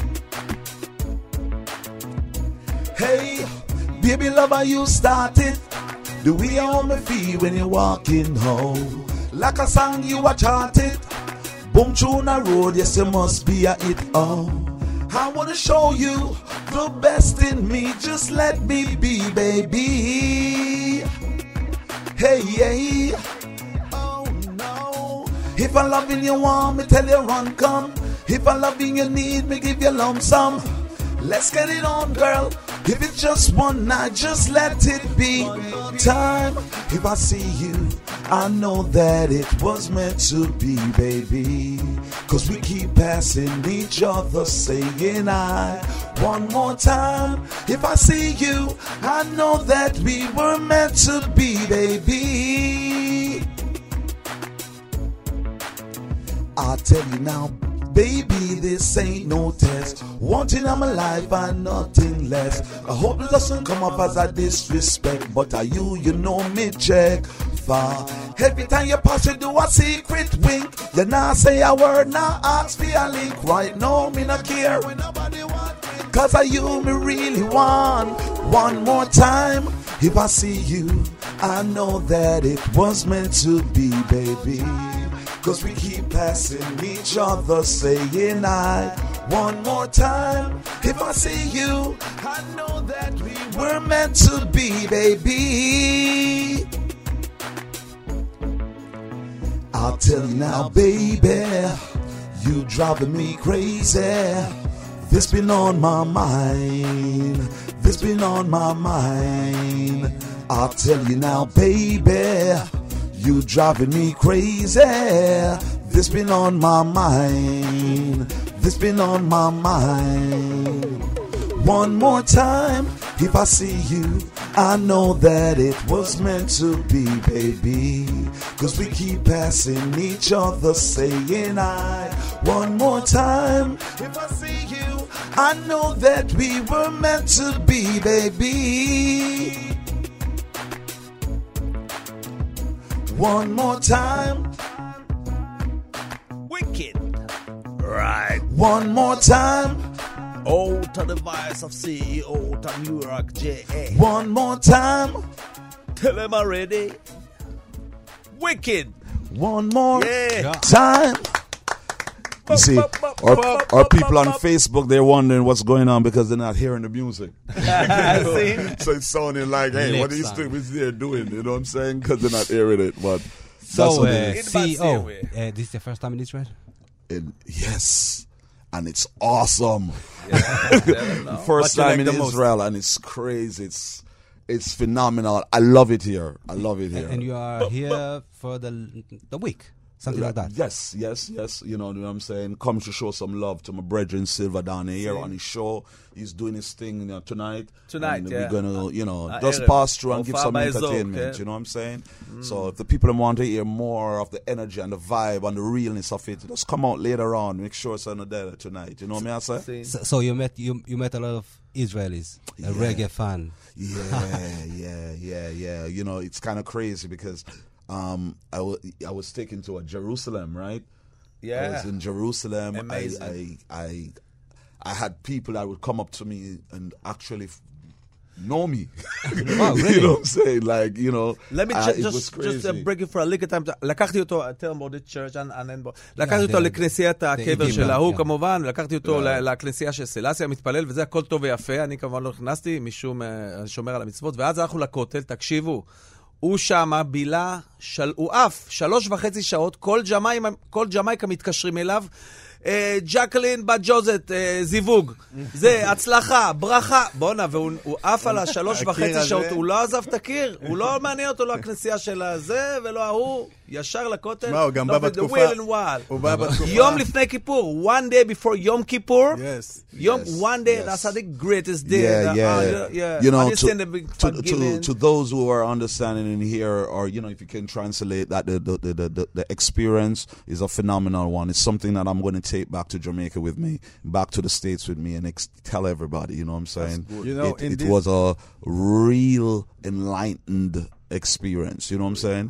Hey, baby lover, you started. The way on my feet when you're walking home, like a song you are chanted. Boom tune a road, yes you must be a hit. Oh, I wanna show you the best in me. Just let me be, baby. Hey, hey. Oh no. If I'm loving you, want me tell you run come. If I'm loving you, need me give you lump sum. Let's get it on, girl. If it's just one night, just let it be. Time. If I see you, I know that it was meant to be, baby. Cause we keep passing each other, saying I. One more time. If I see you, I know that we were meant to be, baby. I'll tell you now, baby, this ain't no test. One thing I'm alive and nothing less. I hope it doesn't come up as a disrespect, but are you know me check far. Every time you pass, you do a secret wink. You not say a word, not ask for a link. Right now, me not care. Cause are you me really want. One more time. If I see you, I know that it was meant to be, baby. Cause we keep passing each other, saying I. One more time, if I see you, I know that we were meant to be, baby. I'll tell you now, baby, you driving me crazy. This been on my mind. This been on my mind. I'll tell you now, baby, you driving me crazy. This been on my mind. This been on my mind. One more time, if I see you, I know that it was meant to be, baby. Cause we keep passing each other, saying I. One more time, if I see you, I know that we were meant to be, baby. One more time. Wicked. Right. One more time. O to the voice of CEO to New York JA. One more time. Tell them already. Wicked. One more Yeah. time. You see, our people on Facebook, they're wondering what's going on because they're not hearing the music. So it's sounding like, hey, what are you there doing? You know what I'm saying? Because they're not hearing it. But So, that's what it CEO, this is the first time in Israel? is. Yes. And it's awesome. Yeah, First time in Israel, and it's crazy. It's phenomenal. I love it here. I love it here. And you are here for the week, something like that. Yes. You know what I'm saying? Come to show some love to my brethren Silva down here on his show. He's doing his thing tonight. Tonight, We're going to, just Erev. pass through and give Ofa some by Zok, entertainment. yeah. You know what I'm saying? So if the people want to hear more of the energy and the vibe and the realness of it, just come out later on. Make sure it's on the day tonight. You know what I say? So you met a lot of Israelis, a reggae fan. Yeah. You know, it's kind of crazy because I was taken to a Jerusalem, right? Yeah. I was in Jerusalem. Amazing. I had people that would come up to me and actually know me. Wow, really? You know what I'm saying? Like, you know, Let me it was crazy. just break it for a little time. לקחתי אותו, tell him about the church, לקחתי אותו לכנסיית הקבר של ההוא כמובן, לקחתי אותו לכנסייה של סלאסיה, מתפלל, וזה הכל טוב ויפה, אני כמובן לא נכנסתי, משום שומר על המצוות, ואז הלכנו לכותל, תקשיבו, הוא שמה בילה, הוא אף 3.5 שעות, כל ג'מייקה מתקשרים אליו, ג'קלין בת ג'וזט, זיווג, זה הצלחה, ברכה, בונה, והוא אף על 3.5 שעות, הוא לא עזב את הקיר, הוא לא מעניין אותו, לא הכנסייה של הזה ולא ההוא, ישר לכותל. מה, הוא גם בא בתקופה, הוא בא בתקופה. יום לפני כיפור, one day before יום כיפור, one day, Yes. that's the greatest day. Yeah. You know, Understand the big forgiving. to those who are understanding in here, or you know, if you can translate that, the experience is a phenomenal one. It's something that I'm going to take back to Jamaica with me, back to the States with me, and tell everybody. You know what I'm saying? You know, it was a real enlightened experience. You know what I'm saying?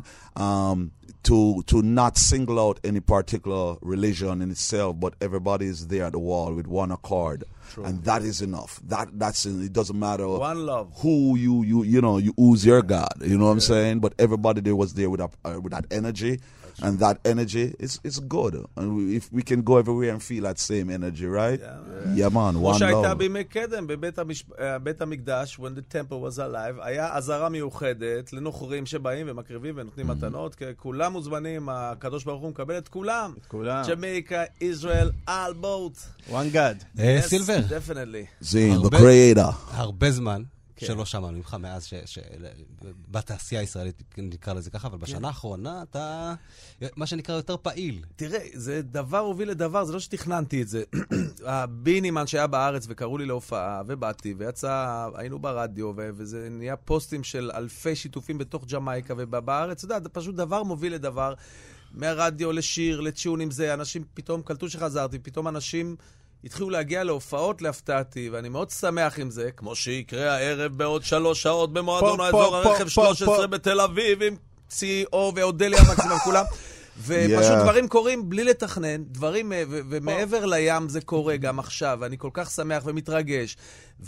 To not single out any particular religion in itself, but everybody is there at the wall with one accord. True. And that is enough. It doesn't matter one love. Who who's your God. You know what I'm saying? But everybody there was there with that energy. And that energy is good. And if we can go everywhere and feel that same energy, right? Yeah, man, one love. כמו שהייתה בימי קדם, בבית המקדש, when the temple was alive, היה עזרה מיוחדת לנוכרים שבאים ומקריבים ונותנים מתנות, כי כולם מוזמנים, הקדוש ברוך הוא מקבל את כולם. את כולם. ג'מייקה, ישראל, all both. One God. סילבר. Definitely. Zane, the creator. הרבה זמן. שלא שמענו ממך מאז בתעשייה הישראלית נקרא לזה ככה, אבל בשנה האחרונה אתה, מה שנקרא, יותר פעיל. תראה, זה דבר הוביל לדבר, זה לא שתכננתי את זה. הבינימן שהיה בארץ וקראו לי להופעה, ובאתי, היינו ברדיו, וזה נהיה פוסטים של אלפי שיתופים בתוך ג'מייקה ובארץ, אתה יודע, זה פשוט דבר מוביל לדבר, מהרדיו לשיר, לציון עם זה, אנשים פתאום קלטו שחזרתי, פתאום אנשים התחילו להגיע להופעות להפתעתי, ואני מאוד שמח עם זה, כמו שיקרה הערב בעוד 3 שעות במועדון האזור הרכב 13 בתל אביב, עם CEO ואודליה מקסימום כולם, ופשוט דברים קורים בלי לתכנן, דברים, ומעבר לים זה קורה גם עכשיו, ואני כל כך שמח ומתרגש,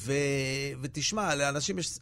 ותשמע, לאנשים יש,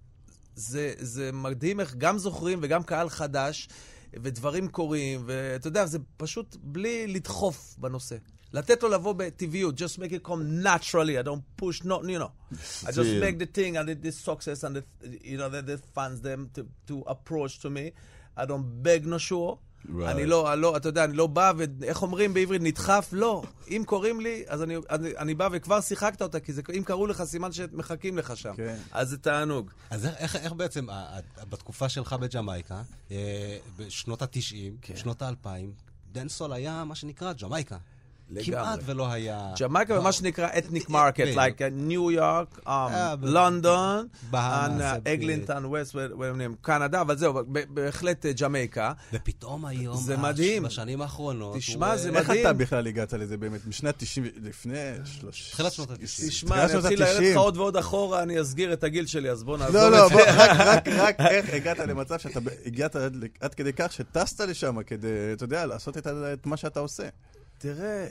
זה מדהים איך גם זוכרים וגם קהל חדש, ודברים קורים, ואתה יודע, זה פשוט בלי לדחוף בנושא. לתת לו לבוא בטבעיות, just make it come naturally, I don't push, not, you know. I just make the thing and this success and the fans them to approach to me. I don't beg no sure. אני לא, אתה יודע, אני לא בא, ואיך אומרים בעברית, נדחף? לא. אם קוראים לי, אז אני בא וכבר שיחקת אותה, כי אם קראו לך סימן שמחכים לך שם. אז זה תענוג. אז איך בעצם, בתקופה שלך בג'מייקה, בשנות ה-90, שנות ה-2000, דנסול היה מה שנקרא ג'מייקה. כמעט ולא היה... ג'מייקה ומה שנקרא ethnic market, like New York, London, אגלינטון, ווסט, קנדה, אבל זהו, בהחלט ג'מייקה. ופתאום היום, זה מדהים. בשנים האחרונות... תשמע, זה מדהים. איך אתה בכלל הגעת לזה באמת? משנת 90, לפני... תחילת שנות ה-90. תשמע, אני אתחיל להרד לך עוד ועוד אחורה, אני אסגיר את הגיל שלי, אז בוא נעזור את זה. זה. רק איך הגעת למצב שאתה הגעת עד כדי כך שטסת לשם כדי, אתה יודע, לעשות את מה שאתה עושה. תראה,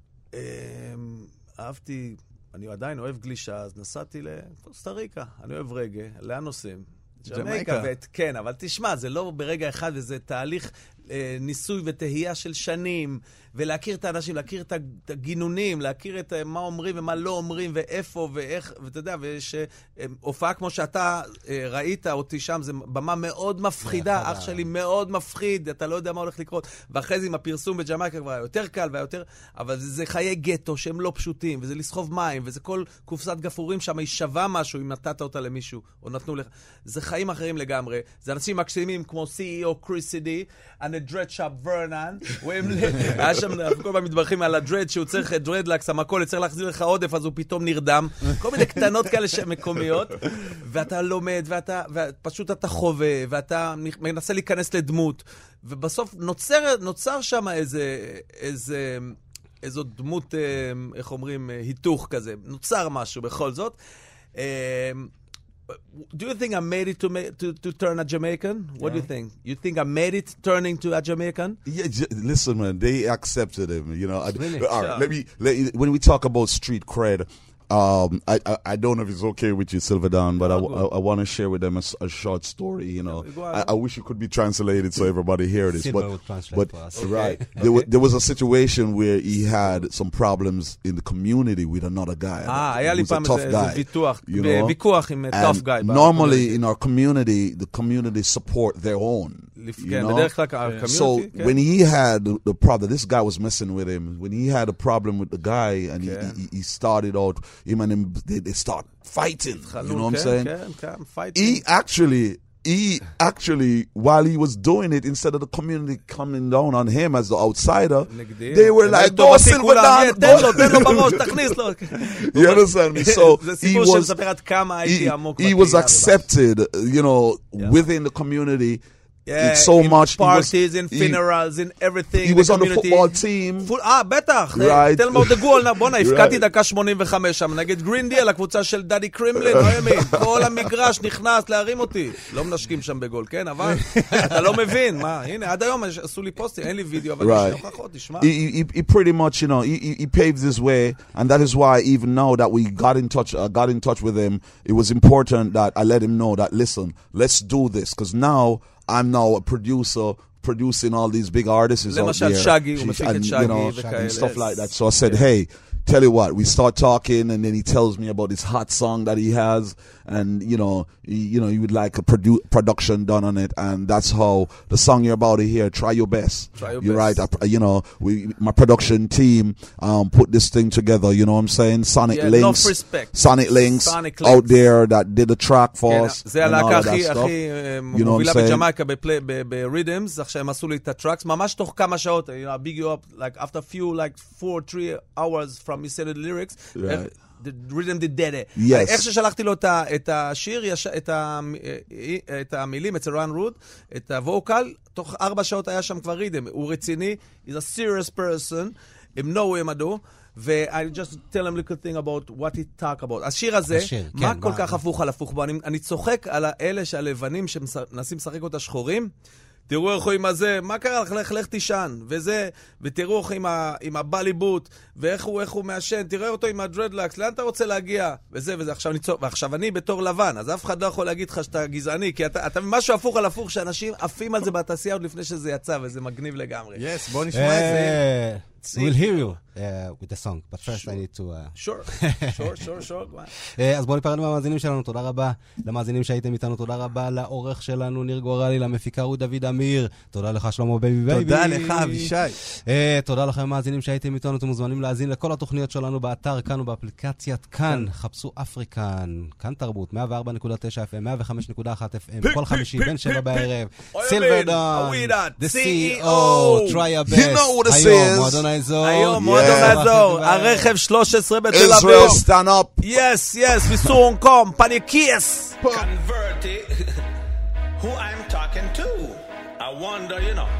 אהבתי, אני עדיין אוהב גלישה, אז נסעתי לקוסטה ריקה, אני אוהב רגע, לאן נוסעים? ג'מייקה. כן, אבל תשמע, זה לא ברגע אחד, וזה תהליך ניסוי ותהייה של שנים, ולהכיר את האנשים, להכיר את הגינונים, להכיר את מה אומרים ומה לא אומרים, ואיפה ואיך, ואתה יודע, הופעה כמו שאתה ראית אותי שם, זה במה מאוד מפחידה, אח שלי מאוד מפחיד, אתה לא יודע מה הולך לקרות, ואחרי זה עם הפרסום בג'מייקה כבר היה יותר קל והיותר, אבל זה חיי גטו שהם לא פשוטים, וזה לסחוב מים, וזה כל קופסת גפורים שם, היא שווה משהו אם נתת אותה למישהו, או נתנו לך, זה חיים אחרים לגמרי, זה אנשים מקסימים כמו CEO קריסידי, and the dread shop ורנן, היה שם, אנחנו כל פעם מתברכים על הדרד, שהוא צריך דרדלקס, המקול, צריך להחזיר לך עודף, אז הוא פתאום נרדם. כל מיני קטנות כאלה מקומיות, ואתה לומד, ופשוט אתה חווה, ואתה מנסה להיכנס לדמות, ובסוף נוצר שם איזו דמות, איך אומרים, היתוך כזה. נוצר משהו בכל זאת. Do you think I made it to turn a Jamaican? What do you think? You think I made it turning to a Jamaican? Yeah, listen, man, they accepted him. You know, really? All right, when we talk about street cred, I don't know if it's okay with you, Silverdown, but I want to share with them a short story. You know, I wish it could be translated so everybody hear this. But right, there was a situation where he had some problems in the community with another guy. Who's a tough guy. You know, and normally in our community, the community support their own. You know? So when he had the problem, this guy was messing with him. When he had a problem with the guy, and he started out, him and him, they start fighting. You know what I'm saying? He actually, while he was doing it, instead of the community coming down on him as the outsider, they were like, go Silverdown, you understand me? So he was accepted, you know, within the community. Yeah, It's so in much. parties, in funerals, in everything. He was in on the community. football team. בטח. Right. tell me about the goal. בוא'נה, הפקעתי Right. דקה 85 שם, נגד גרינדי על הקבוצה של דדי קרימלין, לא ימין. כל המגרש נכנס להרים אותי. לא מנשקים שם בגול, כן? אבל אתה לא מבין. מה? הנה, עד היום עשו לי פוסטים, אין לי וידאו, אבל Right. יש הוכחות, תשמע. He pretty much, you know, he paved his way, and that is why even now that we got in touch with him, it was important that I let him know that, listen, let's do this, because now I'm now a producer producing all these big artists out למשל there. שגי, הוא מפיק את and, שגי you know, וכאלה. and stuff like that. So I said, hey, tell you what, we start talking, and then he tells me about this hot song that he has, and he would like a production done on it, and that's how the song you're about to hear, Try Your Best. You're Best. Right. My production team put this thing together. You know what I'm saying? Sonic Links, enough respect. Sonic Links Sonic out Links. there that did the track for us. זה and all הלהקה of that הכי stuff. You know what מובילה I'm saying? בג'מייקה ברידמס, עכשיו הם עשו לי את הטראקס, ממש תוך כמה שעות, big you up, like after few, like 4-3 hours from me saying the lyrics, Right. the rhythm did dead. Yes. איך ששלחתי לו את השיר, את המילים, אצל רן רוד, את הווקל, תוך 4 שעות היה שם כבר רידם. הוא רציני, he's a serious person, הם know him adore. ו-I just tell him a little thing about what he talk about. השיר הזה, מה כל כך הפוך על הפוך בו? אני צוחק על האלה שהלבנים שמנסים לשחק אותה שחורים, תראו איך הוא עם הזה, מה קרה לך? לך תישן, וזה, ותראו איך עם הבליבוט, ואיך הוא מעשן, תראה אותו עם הדרדלקס, לאן אתה רוצה להגיע? וזה, ועכשיו אני בתור לבן, אז אף אחד לא יכול להגיד לך שאתה גזעני, כי אתה משהו הפוך על הפוך, שאנשים עפים על זה בתעשייה עוד לפני שזה יצא, וזה מגניב לגמרי. Yes, בוא נשמע את זה. We'll hear you with the song, but first I need to... Sure. אז בואו ניפרד מהמאזינים שלנו, תודה רבה למאזינים שהייתם איתנו, תודה רבה לעורך שלנו ניר גורלי, למפיקה רות דוד אמיר, תודה לך שלמה בייבי בייבי. תודה לך אבישי. תודה לכם המאזינים שהייתם איתנו, אתם מוזמנים להאזין לכל התוכניות שלנו באתר כאן ובאפליקציית כאן, חפשו אפריקן, כאן תרבות, 104.9 FM, 105.1 FM, כל חמישי בין 7 בערב, סילברדון, the CEO, try your best. You know what this היום, is. מועדון האזור. היום, מועדון האזור, הרכב 13 בתל אביב. Israel, stand up. Yes, we come, panikies. Convert it. Who I'm talking to? I wonder,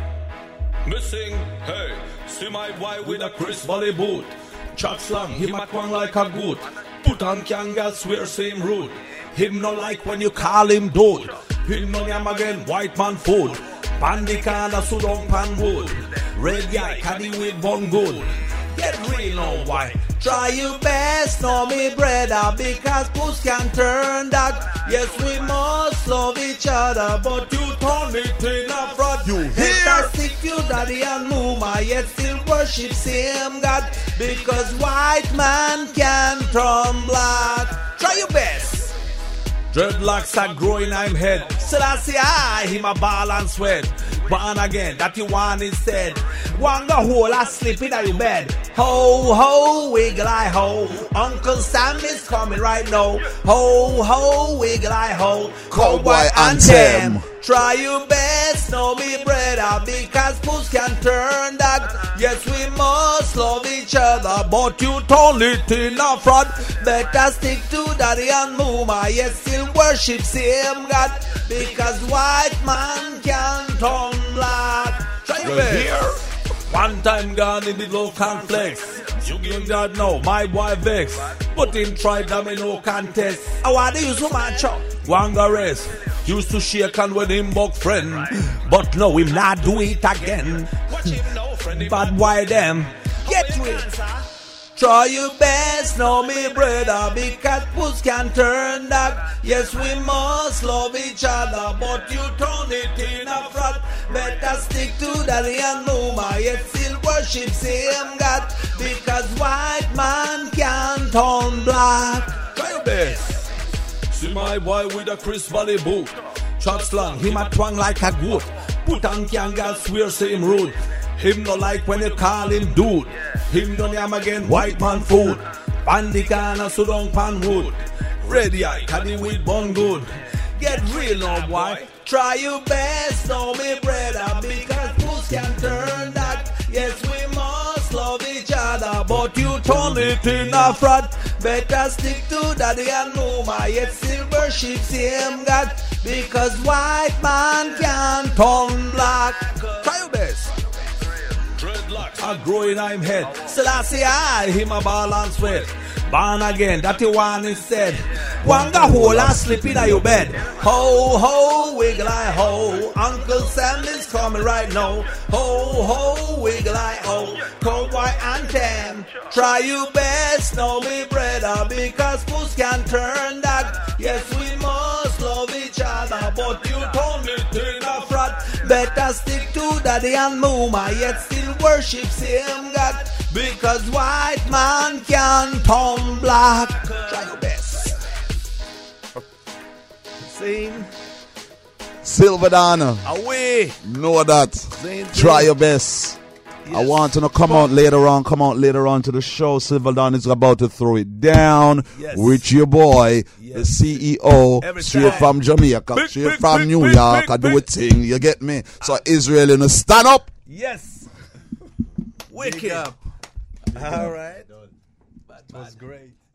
Missing, hey, see my boy with a Chris Valley boot. Chat slang, him a twang like a goat. Put on Kanga, swear same road. Him no like when you call him dude. Him no yam again, white man food. Pandikana, Sudong pan wood. Red guy, caddy with bone good. Get real now, why? Try your best, know me brother, because puss can turn that. Yes, we must love each other, but you turn it in a fraud. You hear? Stick you daddy and mama, yet still worship same God, because white man can turn black. Try your best. Dreadlocks are growing, I'm head. Selassie, him a ball and sweat. Born again, that you want instead. Wanga hole, I sleep in your bed. Ho, ho, wiggle I ho. Uncle Sam is coming right now. Ho, ho, wiggle I ho. Cowboy anthem. Try your best, know me brother, because puss can turn that. Yes, we must love each other, but you turn it in a fraud. Better stick to daddy and mama, yes, still worship same God, because white man can turn black. Try your best. Here. One time gone in the low conflicts. You give that now, my boy vex. But him try them in no contest. I want to use so much up. Wanga rest. Used to shake hand with him buck friend. But no, him not do it again. But why them? Get with it. Try your best, know me brother, because puss can turn that. Yes, we must love each other, but you turn it in a fraud. Better stick to daddy and mama, yet still worship same God, because white man can turn black. Try your best. See my boy with a Chris Valley boot. Shot slang, him a twang like a goat. Put on Kanga, swear same road. Him no like when you call him dude. Him don't yam again, white man food. Pandikana, Sudong pan wood. Ready eye, caddy with bone good. Get real now, boy. Try your best, know me brother, because puss can turn that. Yes, we must love love each other, but you turn it in a fraud. Better stick to daddy and mama, yet still worship same God. Because white man can't turn black. Try your best. I grow in I'm head. Selassie I him a balance with. Born again, that the one is said. Wanga hole and sleep in your bed. Ho ho wiggle I ho. Uncle Sam is coming right now. Ho ho wiggle I ho. Cowboy anthem. Try your best, no me brother, because puss can turn that. Yes, we must love each other, but you turn it in a fraud. Better stick to daddy and mama, yet still worship same God. Because white man can turn black. Try your best. Sing. Silver Donna. Away. Know that. Try your best. Yes. I want to come out later on to the show. Silver Dawn is about to throw it down with your boy, the CEO, straight from Jamaica, straight from New York. I do a thing, you get me? So Israel, you know, stand up. Yes. Wicked up. All right. It was great.